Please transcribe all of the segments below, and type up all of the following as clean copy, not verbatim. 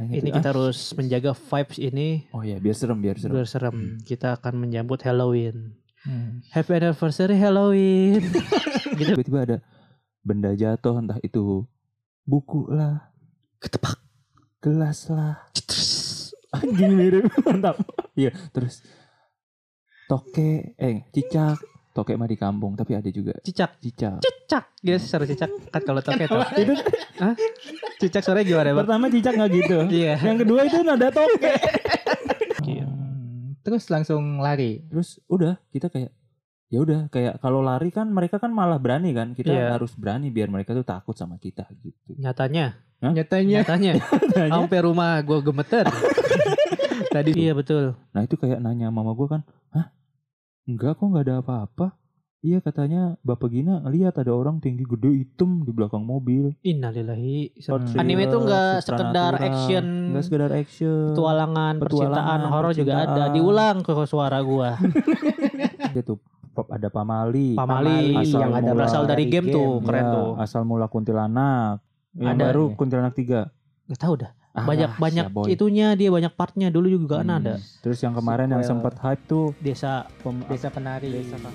gitu. Ini kita harus menjaga vibes ini. Oh ya, biar serem. Biar serem. Kita akan menyambut Halloween. Happy anniversary Halloween. Gitu. Tiba-tiba ada benda jatuh, entah itu buku lah, Ketepak. gelas lah. Anjing mirip, mantap. Iya, terus cicak. Toke mah di kampung, tapi ada juga Cicak. cicak. Gitu suara cicak. Kan kalau toke tuh. Itu cicak suaranya gimana, Bang? Pertama cicak nggak gitu. Iya. Yang kedua itu nada toke. Terus langsung lari. Terus udah kita kayak ya udah kayak kalau lari kan mereka kan malah berani kan, kita Iya. harus berani biar mereka tuh takut sama kita gitu. Nyatanya Nyatanya sampai rumah gue gemeter. Tadi iya betul. Nah itu kayak nanya mama gue kan, hah? Enggak kok, nggak ada apa-apa. Iya katanya Bapak Gina ngeliat ada orang tinggi gede hitam di belakang mobil. Innalillahi. Thriller, Anime itu nggak sekedar supernatural, action, nggak sekedar action, petualangan, percintaan, horor juga ada. percintaan. Diulang ke suara gua. Dia tuh ada Pamali Pamali Asal yang ada mula berasal dari game tuh, keren ya, tuh. asal mula kuntilanak. Yang Ada baru nih. Kuntilanak 3. Gak tahu dah. Ah, Banyak si boy. itunya, dia banyak partnya. Dulu juga kan ada. Terus yang kemarin yang Sequel. sempat hype tuh Desa Desa Penari.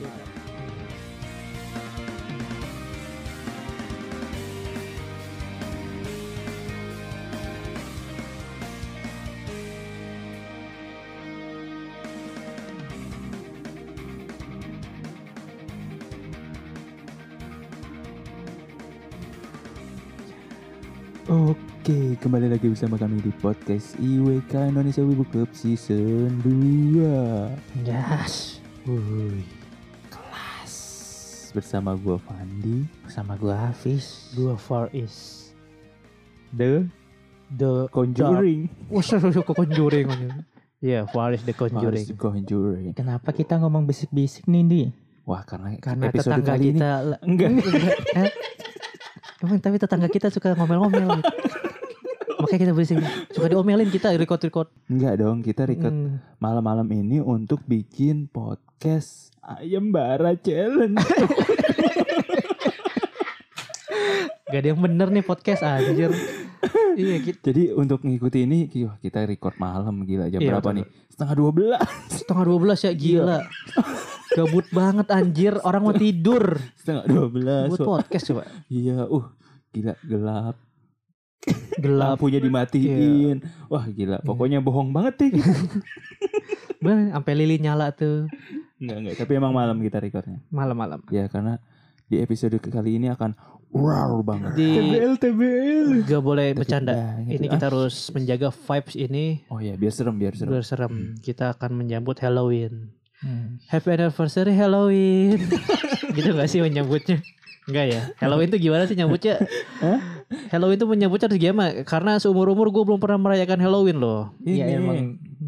Oke, kembali lagi bersama kami di podcast IWK Indonesia Wibu Club Season 2. Yes. Wuih, kelas. Bersama gua Fandi, Sama gua Hafiz. Gua Far East. The Conjuring. Wah, kok Conjuring. Iya, Far East The Conjuring. Harus Conjuring. Kenapa kita ngomong bisik-bisik nih, Di? Wah, karena tetangga episode kali ini kita enggak. Emang tapi tetangga kita suka ngomel-ngomel gitu. Makanya kita berisik. Suka diomelin kita record. Enggak dong, kita record malam-malam ini untuk bikin podcast Ayam Bara Challenge. Gak ada yang bener nih podcast anjir. Iya gitu. Jadi untuk ngikuti ini kita record malam, gila jam Iya, berapa betul. nih? Setengah 12. Setengah 12 ya gila. Gabut banget anjir. Orang mau tidur. Setengah 12. Buat podcast coba. Iya, gila gelap. Gelap. Lampunya dimatiin. Wah gila, pokoknya bohong banget deh. Bener, sampai lilin nyala tuh. Enggak, tapi emang malam kita recordnya. Malam-malam. Ya karena di episode kali ini akan wow banget. Di TBL. gak boleh bercanda. banget. Ini kita harus menjaga vibes ini Oh ya, biar serem. biar serem. Kita akan menyambut Halloween. Hmm. Happy anniversary Halloween. Gitu gak sih menyambutnya? Enggak ya. Halloween tuh gimana sih nyambutnya? Halloween tuh menyambutnya harus gimana? Karena seumur-umur gue belum pernah merayakan Halloween loh. Iya Ini, emang.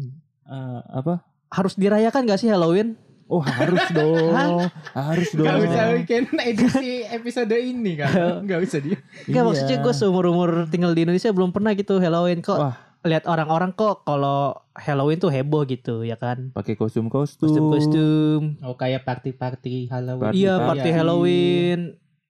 apa? Harus dirayakan gak sih Halloween? Oh harus dong. Harus dong. Gak usah bikin edisi episode ini kan. Gak usah dia. Enggak Iya. maksudnya gue seumur-umur tinggal di Indonesia belum pernah gitu Halloween kok. Wah. Lihat orang-orang kok kalau Halloween tuh heboh gitu ya kan. Pakai kostum-kostum. Kostum-kostum. Oh kayak party Halloween. Party- Iya party Halloween.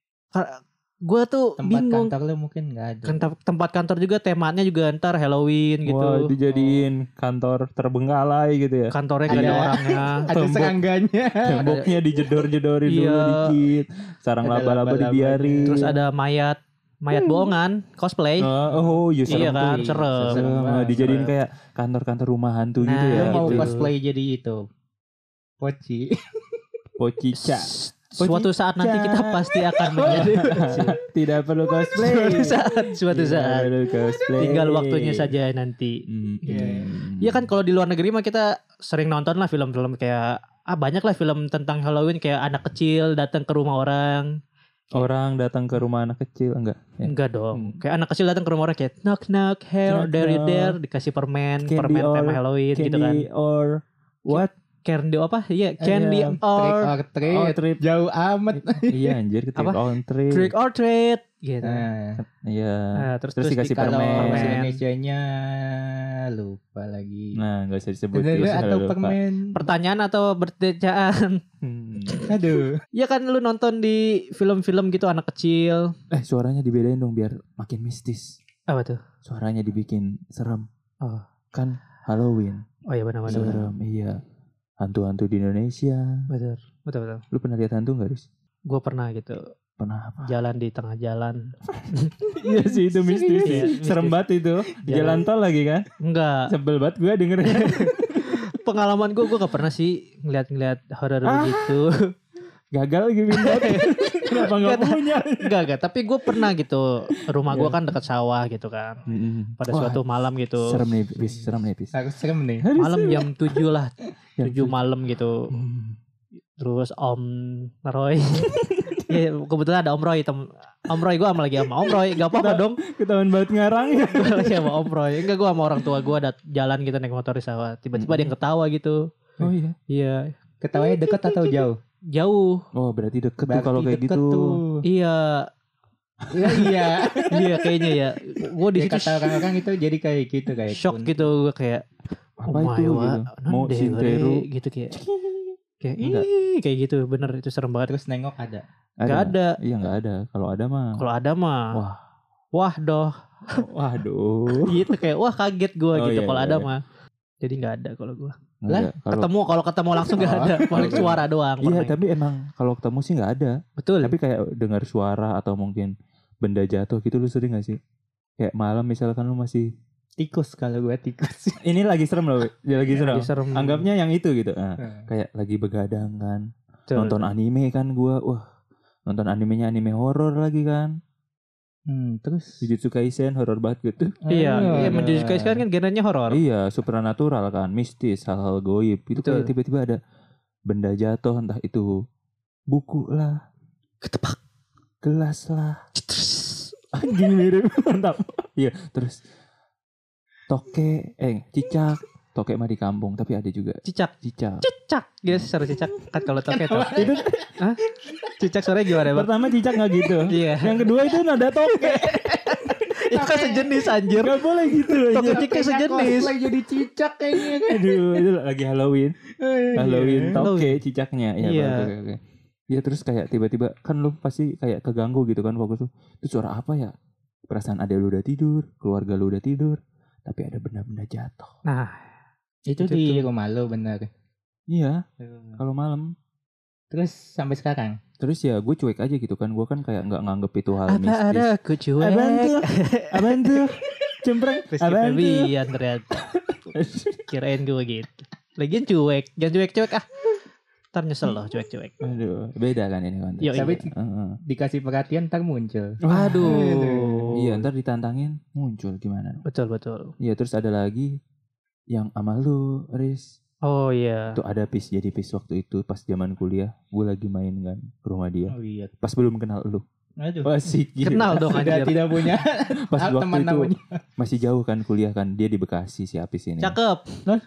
Gue tuh Tempat bingung. kantor lu mungkin gak ada. Tempat kantor juga temanya juga ntar Halloween gitu. Wah, dijadiin kantor terbengkalai gitu ya. Kantornya gak ada Ada- orangnya. Ada Tembok. serangganya. Temboknya dijedor-jedorin Iya. dulu dikit. Sarang Ada laba-laba laba-labanya. dibiarin. Terus ada mayat bohongan cosplay. Oh iya serem Iya kan, tuh. serem. Serem. banget, dijadiin serem. kayak kantor-kantor rumah hantu gitu Nah, ya. Lu mau gitu. cosplay jadi itu Poci. Pocica. Suatu saat nanti kita pasti akan menjadi Tidak perlu cosplay. suatu Tidak saat. perlu cosplay. Tinggal waktunya saja nanti. Iya. Ya kan kalau di luar negeri mah kita sering nonton lah film-film kayak banyak lah film tentang Halloween kayak anak kecil datang ke rumah orang. Orang datang ke rumah anak kecil enggak? Ya. Enggak dong. Kayak anak kecil datang ke rumah orang kayak knock knock Knock, there you knock. there dikasih permen Candy tema or- Halloween gitu kan. Candy or what? Candy apa? Iya, candy Trick or or treat. Oh, treat. Jauh amat. Iya anjir, trick Apa? on treat. trick or treat gitu. Nah, Iya. Nah, terus dikasih kalau permen. bahasa Indonesianya lupa lagi. Nah, enggak usah disebut. Bener Terus atau lupa. permen. Pertanyaan atau bertejaan? Aduh. Ya kan lu nonton di film-film gitu anak kecil. Suaranya dibedain dong biar makin mistis. Apa tuh? suaranya dibikin serem. Oh. Kan Halloween. Oh iya benar. Serem, iya. Hantu-hantu di Indonesia. Betul. Lu pernah lihat hantu gak, Riz? Gue pernah gitu. Pernah apa? Jalan di tengah jalan. Iya sih, itu mistis. Iya, Serem mistis. banget itu. Di jalan tol lagi kan? Enggak. Sebel banget gue dengernya. Pengalaman gue gak pernah sih ngeliat horor begitu. Gagal lagi minta. Kenapa gak punya? Enggak. Tapi gue pernah gitu. Rumah gue kan dekat sawah gitu kan. Pada suatu malam gitu. Serem nih, Pis. Harus serem nih. Malam jam 7 lah. Jam 7 malam gitu. Terus Om Roy. Ya kebetulan ada Om Roy. Om Roy gue sama lagi sama Om Roy. Gak apa-apa dong. Ketahuan banget ngarang. Gue lagi sama Om Roy. Enggak, gue sama orang tua gue ada jalan gitu naik motor di sawah. Tiba-tiba ada yang ketawa gitu. Oh iya. Iya. Ketawanya dekat atau jauh? Jauh. Oh berarti deket tuh kalau kayak deket gitu. tuh. Iya. Iya. Iya kayaknya ya. Gue di Ya, situ kata orang-orang itu jadi kayak gitu kayak shock kunti. gitu. Gue kayak Apa itu gitu? Mau Sintero. gitu kayak. Kayak Enggak. kayak gitu. Bener itu serem banget. Terus nengok ada. Gak ada. Iya gak ada. Kalau ada mah. Kalau ada mah. Wah. Wah doh. Waduh. Gitu kayak wah kaget gue Oh, gitu. iya, Kalau iya, ada iya. mah. Jadi gak ada kalau gue. Enggak, kalau Kalau ketemu langsung gak ada. Paling suara doang. iya, pernah. tapi emang kalau ketemu sih nggak ada. Betul. Tapi kayak dengar suara atau mungkin benda jatuh gitu lu sering gak sih? Kayak malam misalkan lu masih Tikus kalau gue tikus. ini lagi serem loh, dia lagi serem. Lagi serem. Anggapnya yang itu gitu. Nah, kayak lagi begadang kan. Betul. Nonton anime kan gua. Wah, nonton animenya anime horor lagi kan. Terus Jujutsu Kaisen horor banget gitu. Iya, menjadi kan genrenya horor. Iya, supernatural kan, mistis, hal-hal goib. Itu Betul. kayak tiba-tiba ada benda jatuh, entah itu buku lah, Ketepak. gelas lah. Anjing mirip, mantap. Iya, terus cicak. Toke mah di kampung, tapi ada juga Cicak. cicak. Gitu sih suara cicak. Kan kalau toke tuh. Itu Hah? Cicak suaranya gimana, Bang? Pertama cicak nggak gitu. Iya. Yang kedua itu nada toke. Itu kan sejenis anjir. Gak boleh gitu. Toke cicak sejenis. Lagi jadi cicak kayaknya kan. Aduh, itu lagi Halloween. Halloween Iya. toke cicaknya. Ya, Iya. oke. Ya terus kayak tiba-tiba kan lu pasti kayak keganggu gitu kan fokus tuh. Itu suara apa ya? Perasaan ada lu udah tidur, keluarga lu udah tidur, tapi ada benda-benda jatuh. Nah, Itu di rumah lo bener. Iya, kalau malam. Terus sampai sekarang. Terus ya gue cuek aja gitu kan. Gue kan kayak nggak nganggep itu hal apa mistis. ada aku cuek. Abang tuh. Cempreng. Rizky Abang tuh. Febian ternyata. Kirain gue gitu. Lagian cuek. Jangan cuek-cuek ah. Ntar nyesel loh cuek-cuek. Aduh, beda kan ini konteks. Yo, Tapi Heeh. dikasih perhatian ntar muncul. Aduh. Iya, ntar ditantangin muncul gimana? Betul. Iya, terus ada lagi yang sama lu, Riz. Oh iya. Itu ada jadi pis waktu itu pas zaman kuliah. Gue lagi main kan ke rumah dia. Oh iya. Pas belum kenal lu. Aduh. Masih Kenal dong Sudah anjir. tidak punya Pas waktu teman itu namanya. masih jauh kan kuliah kan. Dia di Bekasi si Apis ini. Cakep.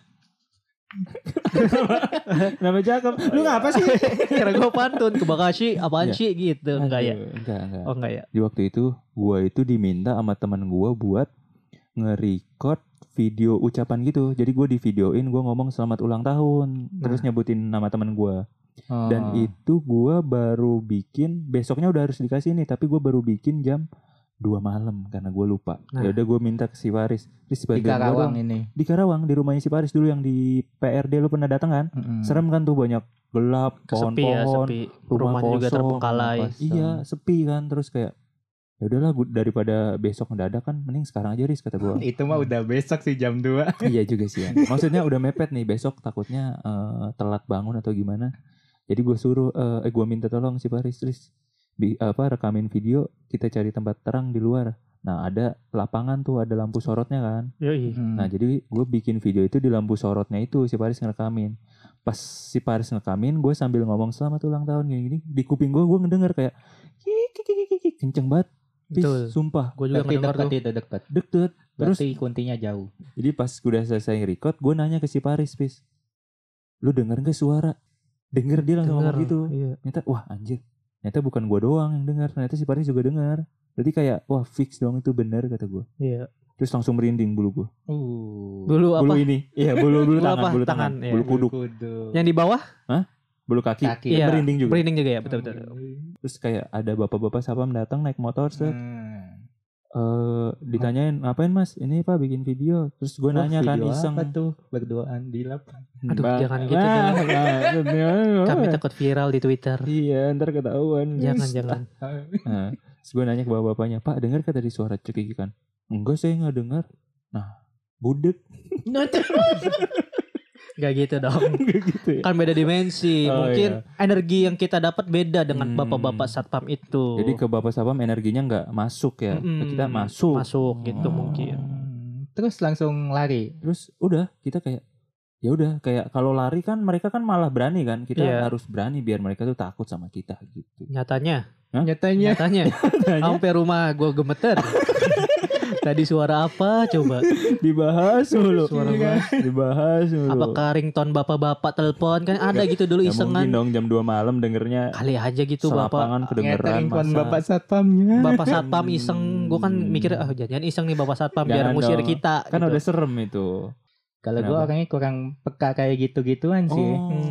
Nama cakep. Lu ngapa sih? Kira gue pantun ke Bekasi apaan Iya. sih gitu. Enggak ya. Aduh, Enggak. Oh enggak ya. Di waktu itu gue itu diminta sama teman gue buat nge-record video ucapan gitu. Jadi gue di videoin gue ngomong selamat ulang tahun. Terus nyebutin nama teman gue. Dan itu gue baru bikin. Besoknya udah harus dikasih nih. Tapi gue baru bikin jam 2 malam karena gue lupa. Nah. Ya udah gue minta ke si Faris. Riz, di bantuin gua Karawang dong. ini. Di Karawang di rumahnya si Faris dulu yang di PRD lu pernah datang kan? Serem kan tuh, banyak gelap, Sepi ya, pohon-pohon, sepi. rumah Rumahnya juga kosong, terbengkalai. rumah kosong. Iya, sepi kan. Terus kayak ya udahlah daripada besok mendadak kan, mending sekarang aja Riz, kata gue. Itu mah udah besok sih jam 2. Iya juga sih ya. Maksudnya udah mepet nih, besok takutnya telat bangun atau gimana. Jadi gue suruh gue minta tolong si Faris, Riz, rekamin video, kita cari tempat terang di luar. Nah ada lapangan tuh, ada lampu sorotnya kan. Yoi. Nah jadi gue bikin video itu di lampu sorotnya itu, si Faris ngerekamin. Pas si Faris ngerekamin, gue sambil ngomong selamat ulang tahun gini-gini. Di kuping gue ngedenger kayak kik, kenceng banget. Betul. Sumpah. Gue juga Tapi ngedenger tuh. dekat. Deket. Terus Berarti kuntinya jauh. jadi pas udah selesai record, gue nanya ke si Faris, Pis, lu denger gak suara? Denger, dia langsung ngomong gitu. Iya. Ternyata wah anjir, ternyata bukan gue doang yang denger, ternyata si Faris juga denger. Berarti kayak wah fix dong itu bener, kata gue. Iya. Terus langsung merinding bulu gue. Dulu apa? Bulu ini, iya bulu Bulu tangan, apa? bulu tangan, Tangan, iya. bulu kuduk, Yang di bawah? bulu kaki, Kaki. Iya. merinding juga. Merinding juga ya, betul. Terus kayak ada bapak-bapak sapam datang naik motor set. ditanyain ngapain mas, ini Pak bikin video, terus gue nanya kan Video iseng. apa tuh? Berduaan di lapang. Aduh, Bang. jangan gitu, jangan. Kami takut viral di Twitter. Iya, ntar ketahuan. Jangan. Nah, terus gue nanya ke bapak-bapaknya, Pak dengar kata tadi suara cekik kan? Enggak, saya nggak dengar. Nah, budek. Gak gitu dong. gitu ya. Kan beda dimensi. Oh, Mungkin energi yang kita dapat beda dengan bapak-bapak Hmm. satpam itu. Jadi ke bapak satpam energinya nggak masuk ya, ke kita masuk. Masuk gitu Oh. mungkin. Terus langsung lari. Terus udah kita kayak ya udah kayak kalau lari kan mereka kan malah berani kan, kita Iya. harus berani biar mereka tuh takut sama kita gitu. Nyatanya Nyatanya sampai rumah gue gemeter. Tadi suara apa coba? Dibahas mulu. Suara Dibahas mulu. Apakah ringtone bapak-bapak telepon kan ada gitu dulu Ya isengan. mungkin dong jam 2 malam dengernya Kali aja gitu bapak. selapangan kedengeran ngetering masa. bapak satpamnya. Bapak satpam iseng. Gue kan mikir jangan iseng nih bapak satpam biar Jangan ngusir dong. kita. Kan gitu. udah serem itu. Kalau gue Kenapa? orangnya kurang peka kayak gitu-gituan sih.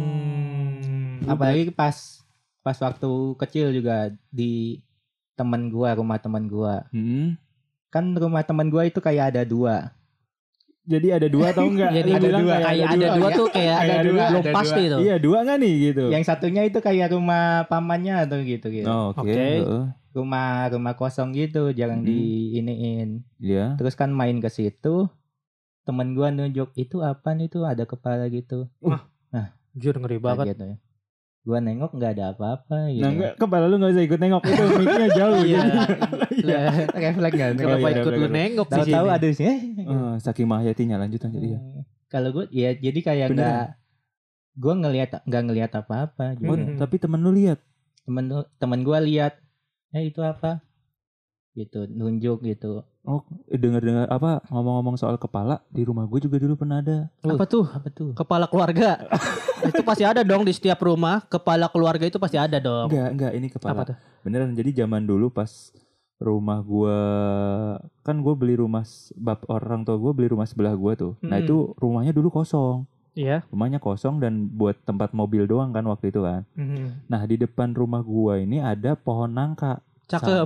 Apalagi pas waktu kecil juga di rumah teman gua. Kan rumah teman gua itu kayak ada 2. Jadi ada 2 atau enggak? Jadi Ada bilang dua, kayak ada dua tuh kayak Ada ada dua, belum ada pasti dua. tuh. Iya 2 enggak nih gitu. Yang satunya itu kayak rumah pamannya atau gitu. Oh, oke. Oke. Heeh. Rumah kosong gitu, jarang diiniin. Iya. Terus kan main ke situ, temen gua nunjuk itu apaan itu ada kepala gitu. Jujur ngeri banget. Gitu ya. Gua nengok nggak ada apa-apa gitu. Nah, enggak, kepala lu enggak usah ikut nengok itu mic-nya jauh. Iya. Iya. Refleks nggak? Kenapa iya, ikut lu bener. nengok di Tahu-tahu sini? ada sih. Saking mahayatinya lanjut ya. Kalau gue ya jadi kayak Beneran? nggak, gue nggak ngelihat apa-apa. Oh, Gitu. tapi temen lu lihat. Temen gue lihat, itu apa? Gitu nunjuk gitu. Oh, dengar-dengar apa ngomong-ngomong soal kepala di rumah gue juga dulu pernah ada. Apa tuh? Apa tuh? Kepala keluarga. Itu pasti ada dong di setiap rumah. Kepala keluarga itu pasti ada dong. Enggak, ini kepala. Apa tuh? Beneran, jadi zaman dulu pas rumah gua kan gue beli rumah orang tua gue beli rumah sebelah gua tuh. Nah, itu rumahnya dulu kosong. Iya. Rumahnya kosong dan buat tempat mobil doang kan waktu itu kan. Nah, di depan rumah gua ini ada pohon nangka. Cakep.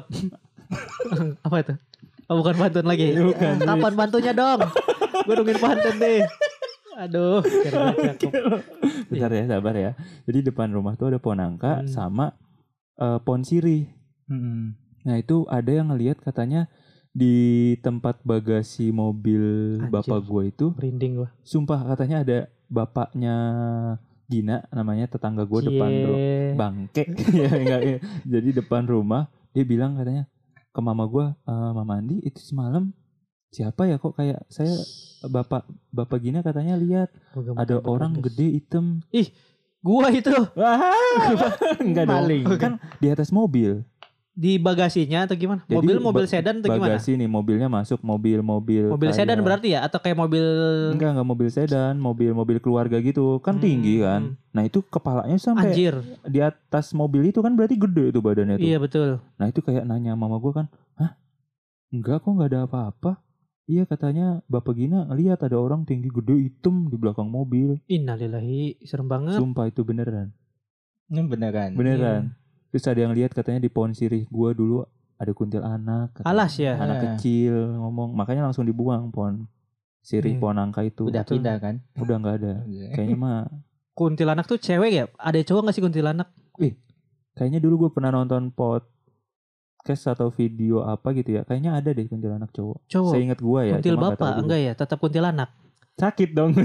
Apa itu? Oh, bukan pantun lagi. Bukan. Kapan pantunnya dong? Gue nungguin pantun deh. Aduh, kira cakep. Bentar ya, sabar ya. Jadi depan rumah tuh ada pohon nangka sama pohon sirih. Nah, itu ada yang ngelihat katanya di tempat bagasi mobil Anjir. bapak gue itu, Merinding gue. sumpah katanya ada bapaknya Gina namanya, tetangga gue depan bangke. Ya, enggak, ya. Jadi depan rumah dia bilang katanya ke mama gue, Mama Andi itu semalam siapa ya, kok kayak saya bapak Gina katanya lihat ada orang gede hitam. Gua itu Wah, enggak dong. Maling. Kan di atas mobil. di bagasinya atau gimana? Jadi Mobil sedan atau gimana? Bagasi nih, mobilnya masuk mobil Mobil sedan berarti ya? Atau kayak mobil enggak mobil sedan, mobil keluarga gitu kan, tinggi kan. Nah, itu kepalanya sampai anjir? di atas mobil itu kan, berarti gede itu badannya tuh. Iya betul. Nah, itu kayak nanya mama gue kan, hah? Enggak kok, enggak ada apa-apa. Iya, katanya Bapak Gina ngeliat ada orang tinggi gede hitam di belakang mobil. Innalillahi, serem banget. Sumpah itu beneran. Ini beneran. Beneran. Terus ada yang lihat katanya di pohon sirih gua dulu ada kuntilanak. Alas ya. Anak kecil ngomong, makanya langsung dibuang pohon sirih, pohon nangka itu. Udah pindah kan? Udah nggak ada. Kayaknya mah. Kuntilanak tuh cewek ya? Ada cowok gak sih kuntilanak? Kayaknya dulu gue pernah nonton podcast atau video apa gitu ya. Kayaknya ada deh kuntilanak cowok. Cowok. Seingat gua ya. Kuntil cuma nggak tahu bapak dulu. enggak ya? Tetap kuntilanak. Sakit dong.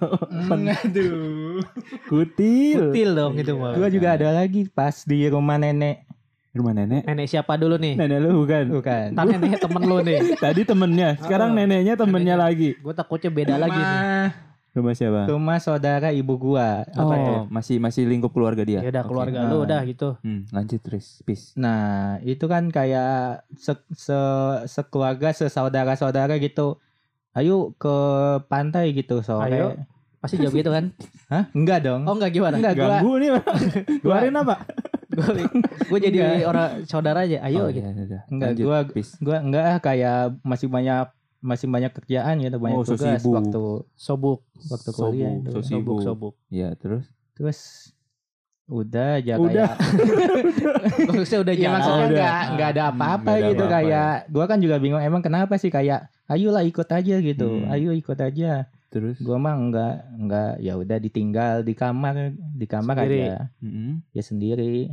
Aduh. Kutil. Kutil dong itu mah. Gua juga ada lagi pas di rumah nenek. Rumah nenek. Nenek siapa dulu nih? Nenek lu bukan. Bukan. Ntar nenek temen lu nih. Tadi temennya. Sekarang neneknya temennya lagi. Gue takutnya beda lagi nih. Rumah siapa? Rumah saudara ibu gua. Apa tuh? masih lingkup keluarga dia. Ya udah Oke. keluarga lu udah gitu. Lanjut terus. Peace. Nah, itu kan kayak sekeluarga, sesaudara-saudara gitu. Ayo ke pantai gitu sore. Ayo. Pasti jawab gitu kan? Hah? Enggak dong. Oh enggak gimana? Enggak, gua Ganggu nih. Keluarin apa? Gue jadi orang saudara aja. Ayo gitu. Udah. enggak Lanjut, gua peace. enggak kayak masih banyak kerjaan gitu, banyak so tugas sibuk. waktu Sobuk. kuliah itu. So sibuk. Sobuk. Ya, terus Terus Udah aja Udah. kayak Maksudnya udah ya jalan. maksudnya nggak ada apa-apa Nggak ada gitu apa-apa, kayak gua kan juga bingung emang kenapa sih kayak ayolah ikut aja gitu. Ayo ikut aja. Terus Gua mah enggak ya udah ditinggal di kamar Sendiri. aja. Ya sendiri.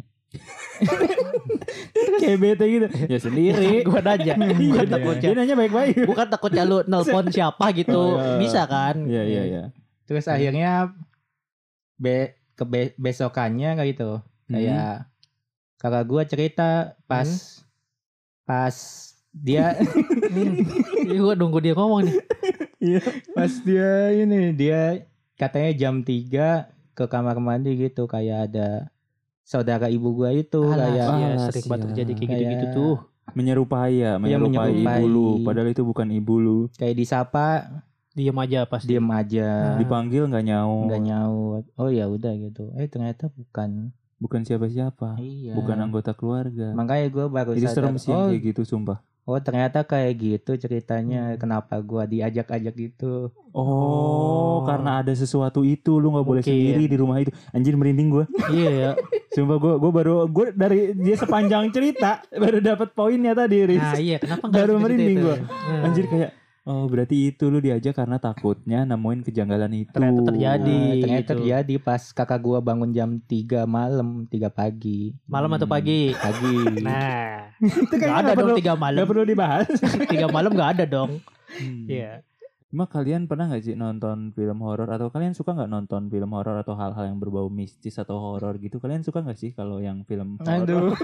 kayak bete gitu. Ya sendiri. Gue nanya. Bukan takutnya. Dia nanya baik-baik. Bukan takutnya lu nelpon siapa gitu. Bisa kan? Iya. Terus akhirnya besokannya kayak gitu. Kayak kakak gua cerita pas dia Gue nunggu dia ngomong nih. Iya. pas dia katanya jam 3 ke kamar mandi gitu kayak ada saudara ibu gua itu kayak Iya, Alas, sering banget ya. terjadi kayak Kayak- gitu-gitu tuh. menyerupai menyerupai. ibu lu, padahal itu bukan ibu lu. kayak disapa Diem aja pasti. diem aja Dipanggil nggak nyaut. nggak nyaut. Oh ya udah gitu. Ternyata Bukan siapa-siapa. iya. Bukan anggota keluarga. Makanya gua baru Itu sadar. serem sih yang kayak gitu, sumpah. Ternyata kayak gitu ceritanya. Kenapa gua diajak-ajak gitu. Oh, karena ada sesuatu itu lu nggak boleh Mungkin. sendiri di rumah itu. Anjir merinding gua. Iya ya. Sumpah gue dari dia sepanjang cerita baru dapat poinnya tadi, Riz. Nah iya kenapa nggak Baru cerita merinding itu? gua. Anjir kayak oh berarti itu lu diajak karena takutnya nemuin kejanggalan itu. Ternyata terjadi. Ternyata gitu. terjadi pas kakak gua bangun jam 3 malam 3 pagi. Malam atau pagi? Pagi. Nah, Itu nggak kayaknya ada nggak dong perlu, 3 malam. nggak perlu dibahas. 3 malam nggak ada dong. Hmm. Iya. Cuma kalian pernah nggak sih nonton film horor atau kalian suka nggak nonton film horor atau hal-hal yang berbau mistis atau horor gitu? Kalian suka nggak sih kalau yang film horor? Aduh.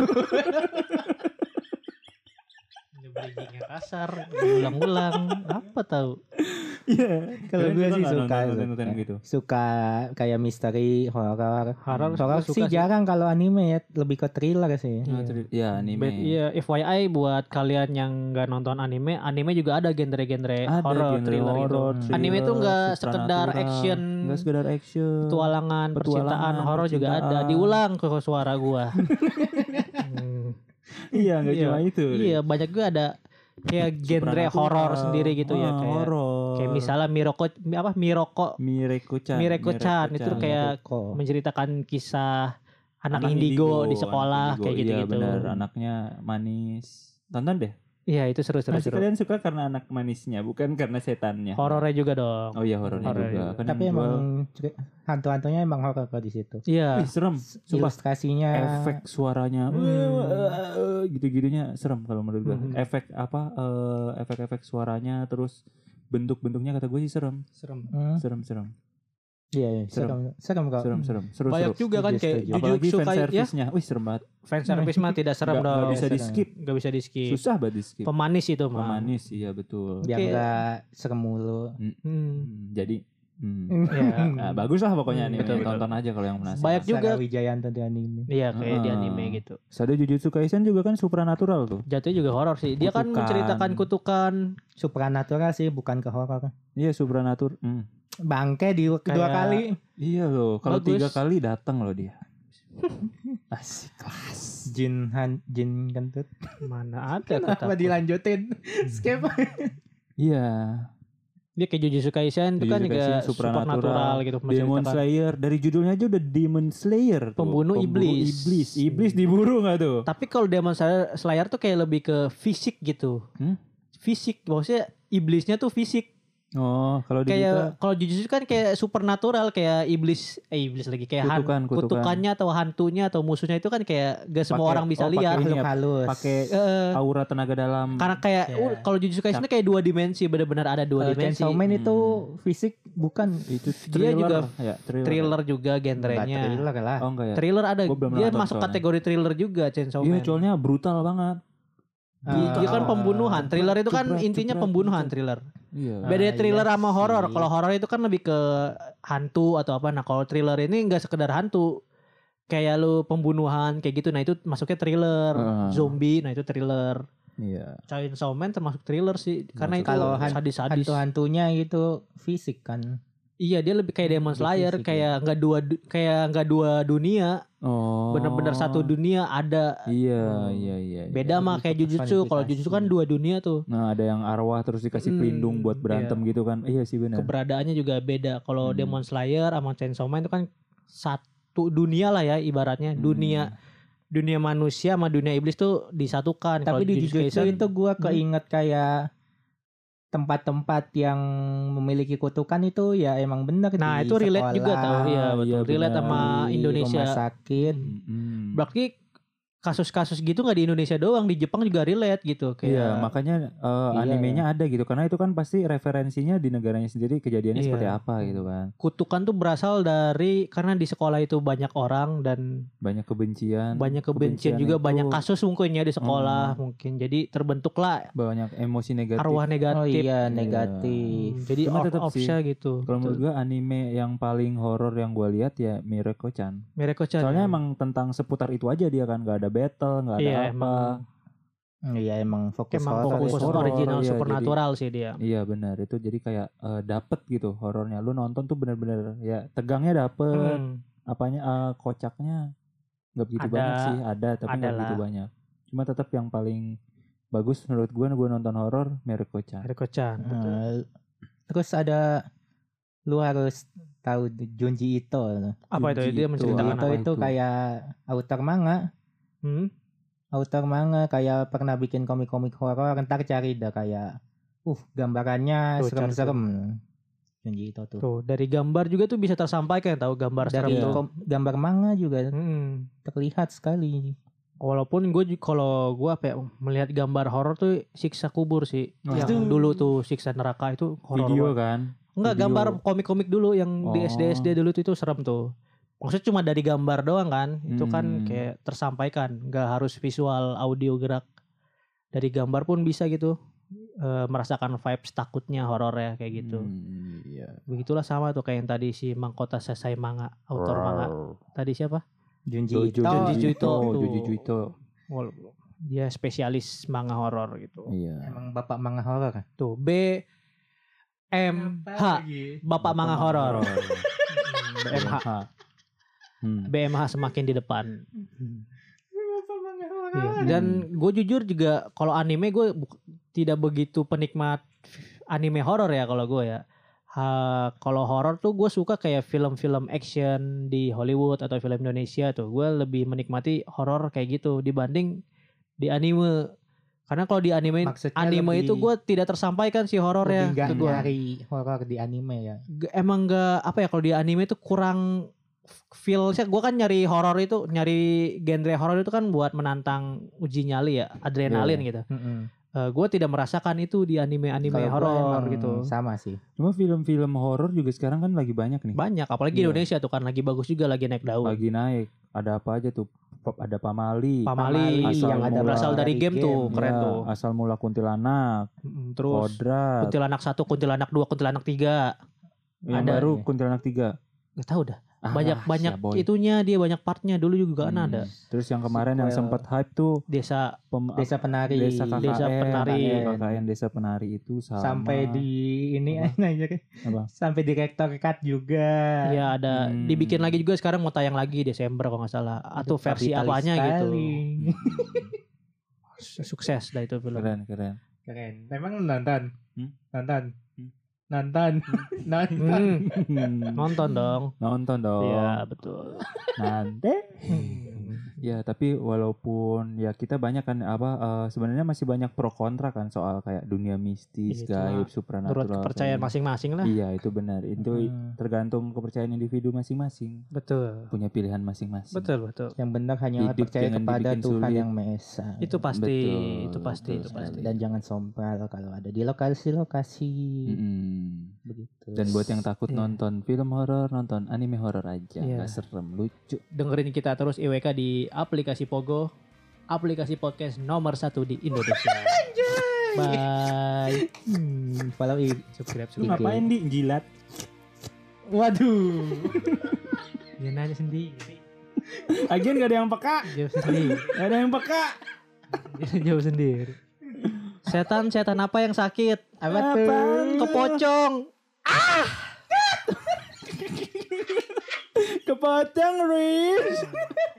Bridging-nya kasar, diulang-ulang, apa tahu? Iya. Kalau Kalian gue sih nggak suka nonton gitu. Suka kayak misteri, horor. Horor Horor suka sih sih. jarang kalau anime ya, lebih ke thriller sih. Ya anime. Iya, FYI buat kalian yang nggak nonton anime juga ada genre-genre Ada horor, genre thriller gitu. horor, thriller, Anime tuh nggak sekedar supernatural. action, Nggak sekedar action. petualangan, percintaan, horor juga ada. percintaan. Diulang ke suara gua. Iya, nggak Iya. cuma itu. Iya, banyak juga ada kayak genre Supernatural. horor sendiri gitu ya kayak horor. kayak misalnya Miroko-chan Mireko-chan. itu kayak Kok. menceritakan kisah anak indigo di sekolah anak kayak indigo. gitu-gitu. Iya benar, anaknya manis. Tonton deh. Iya, itu seru-seru. Pasti kalian suka karena anak manisnya, bukan karena setannya. Horornya juga dong. Oh iya, horornya Horor juga. juga. Kan Tapi yang emang jual- hantu-hantunya emang horor kok di situ. Iya. Ih, serem. Sumpah. Ilustrasinya Efek suaranya gitu-gitunya serem kalau menurut gue. Efek apa efek-efek suaranya terus bentuk-bentuknya kata gue sih serem. Serem. Iya, serem kok. Serem. Seru. Banyak juga kan kayak Setuju. Apalagi Jujutsu fan Kaisen ya. service-nya. Wih, serem banget. Fan service mah tidak serem Nggak dong. bisa di-skip. Gak bisa di skip. Susah banget di skip. Pemanis itu mah. Pemanis, iya betul. Biar Oke. nggak serem mulu. Jadi Iya. nah, bagus lah pokoknya nih. betul. Tonton aja kalau yang penasaran. Banyak juga. Sarah Wijayanto di anime. Iya kayak di Ah. anime gitu. Sado Jujutsu Kaisen juga kan supranatural tuh. Jatuhnya juga horor sih. Dia kan Kutukan. menceritakan kutukan. Supranatural sih, bukan ke horor. Iya, supranatural. Bangke di kedua Kayak- kali. Iya loh, kalau Bagus. 3 kali datang loh dia. Asik kelas. Jin kentut. Mana ada Kenapa kata. dilanjutin? Skip. Iya. Dia kayak Jujutsu Kaisen itu kan Jujutsu juga Kaisen, supernatural gitu. Demon menceritakan Slayer, dari judulnya aja udah Demon Slayer tuh. Pembunuh iblis. Iblis diburu nggak tuh? Tapi kalau Demon Slayer tuh kayak lebih ke fisik gitu. Fisik, maksudnya iblisnya tuh fisik. Oh, kalau di kita Kayak kalau Jujutsu kan kayak supernatural, kayak iblis lagi kayak Kutukan. kutukannya atau hantunya atau musuhnya itu kan kayak gak semua Pakai- orang bisa oh, lihat. pakai ini ya, Halus. pakai Eh, aura tenaga dalam. karena kayak Ya. kalau Jujutsu Kaisen tuh kayak 2 dimensi, benar-benar ada 2 dimensi. Chainsaw Man itu fisik bukan Itu Dia juga ya, thriller juga enggak genrenya. thriller lah. Oh enggak ya? Thriller ada. Gua belum Dia nonton masuk soalnya. kategori thriller juga Chainsaw Iya, Man. soalnya brutal banget. Dia kan pembunuhan. Thriller itu kan Jebret, intinya jebret, pembunuhan jebret. thriller. Iya. Beda thriller iya sama horor. sih. Kalau horor itu kan lebih ke hantu atau apa. Nah, kalau thriller ini enggak sekedar hantu. Kayak lu pembunuhan kayak gitu. Nah, itu masuknya thriller. Zombie, nah itu thriller. Iya. Chainsaw Man termasuk thriller sih. Karena itu Kalau sadis-sadis. hantu-hantunya itu fisik kan. Iya, dia lebih kayak Demon Lebih Slayer, fisik, kayak enggak dua dunia. Oh. Bener-bener satu dunia ada. Iya. Beda mah kayak Jujutsu. Kalau Jujutsu kan 2 dunia tuh. Nah, ada yang arwah terus dikasih pelindung buat berantem gitu kan. Iya sih benar. Keberadaannya juga beda. Kalau Demon Slayer sama Chainsaw Man itu kan dunia lah ya ibaratnya. Dunia manusia sama dunia iblis tuh disatukan. Tapi di Jujutsu itu gue keinget kayak tempat-tempat yang memiliki kutukan itu ya emang benar nah di itu relate sekolah, juga tau. Iya betul. Relate sama di Indonesia. rumah sakit. Berarti kasus-kasus gitu nggak di Indonesia doang, di Jepang juga relate gitu. Kayak Iya, makanya animenya ada gitu. Karena itu kan pasti referensinya di negaranya sendiri kejadiannya seperti apa gitu kan. Kutukan tuh berasal dari karena di sekolah itu banyak orang dan banyak kebencian juga itu, banyak kasus mungkin ya di sekolah mungkin. Jadi terbentuklah banyak emosi negatif. arwah negatif. Oh iya, negatif. Jadi Cuma tetap sih, gitu. kalau menurut gue anime yang paling horor yang gue lihat ya Mireco-chan. Soalnya emang tentang seputar itu aja dia kan, gak ada battle, gak ada apa. Emang fokus horor, original iya, supernatural sih dia. Iya benar, itu jadi kayak dapet gitu horornya. Lu nonton tuh bener-bener ya tegangnya dapet, apanya kocaknya nggak begitu banyak sih, ada tapi nggak begitu banyak. Cuma tetap yang paling bagus menurut gue nonton horor Mireco-chan. Terus ada lu harus tahu Junji Ito. Apa itu? Dia menceritakan apa itu? Kayak author manga. Author manga kayak pernah bikin komik-komik horor. Ntar cari dah kayak gambarannya serem-serem. Junji Ito tuh. Dari gambar juga tuh bisa tersampaikan tahu gambar serem tuh. Gambar manga juga terlihat sekali. Walaupun kalau gue melihat gambar horor tuh siksa kubur sih. Yang dulu tuh siksa neraka itu horor. Video kan? Enggak, gambar komik-komik dulu yang di SD dulu itu serem tuh. Maksudnya cuma dari gambar doang kan. Itu kan kayak tersampaikan, enggak harus visual, audio, gerak. Dari gambar pun bisa gitu. Merasakan vibes takutnya horor ya kayak gitu. Iya. Begitulah sama tuh kayak yang tadi si Mangkota Sasai manga, autor manga. Tadi siapa? Junji Ito. Dia spesialis manga horor gitu. Iya. Emang bapak manga horor kan? Tuh BMH, bapak manga horor. BMH semakin di depan. Dan gue jujur juga kalau anime gue tidak begitu penikmat anime horor ya kalau gue ya. Kalau horor tuh gue suka kayak film-film action di Hollywood atau film Indonesia tuh. Gue lebih menikmati horor kayak gitu dibanding di anime. Karena kalau di anime itu gue tidak tersampaikan sih horor ya. Gak nyari horor di anime ya. Emang gak apa ya, kalau di anime itu kurang feel-nya. Gue kan nyari horor itu, nyari genre horor itu kan buat menantang uji nyali ya, adrenalin gitu. Gue tidak merasakan itu di anime-anime horor gitu. Sama sih. Cuma film-film horor juga sekarang kan lagi banyak nih. Banyak, apalagi Indonesia tuh kan lagi bagus juga, lagi naik daun. Lagi naik. Ada apa aja tuh? Ada Pamali yang ada berasal dari game tuh, keren tuh. Asal mula Kuntilanak. Terus Kodrat. Kuntilanak 1, Kuntilanak 2, Kuntilanak 3. Yang ada baru Kuntilanak 3. Gak tahu dah. Banyak itunya, dia banyak partnya. Dulu juga kan ada. Terus yang kemarin yang sempat hype tuh Desa Penari. Desa KKN Desa Penari itu sama. Sampai di ini aja kan. Sampai direktor cut juga. Iya ada. Dibikin lagi juga sekarang, mau tayang lagi Desember kalau nggak salah. Atau versi apanya gitu. Sukses dah itu film. Keren. Memang nonton. Nonton dong. Iya betul. Nanti. Ya tapi walaupun ya kita banyak kan sebenarnya masih banyak pro kontra kan soal kayak dunia mistis, gaib, supranatural. Menurut kepercayaan masing-masing lah. Iya itu benar. Itu tergantung kepercayaan individu masing-masing. Betul. Punya pilihan masing-masing. Betul. Yang benar hanya percaya kepada Tuhan yang Maha Esa. Itu pasti. Dan jangan sompral kalau ada di lokasi-lokasi. Begitu. Dan buat yang takut nonton film horor, nonton anime horor aja, nggak serem, lucu. Dengerin kita terus IWK di aplikasi Pogo, aplikasi podcast nomor 1 di Indonesia. Bye. Follow subscribe. Lu ngapain di jilat? Waduh. Dia nanya sendiri. Agen gak ada yang peka. Jawab sendiri. Gak ada yang peka. Jawab sendiri. Setan apa yang sakit? Apa tuh? Kepocong. Kepocong, Riz.